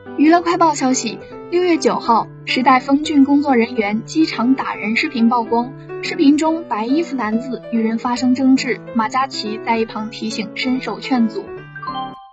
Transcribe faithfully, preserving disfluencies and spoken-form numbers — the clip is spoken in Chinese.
娱乐快报消息，六月九号，时代峰峻工作人员机场打人视频曝光，视频中白衣服男子与人发生争执，马嘉祺在一旁提醒伸手劝阻。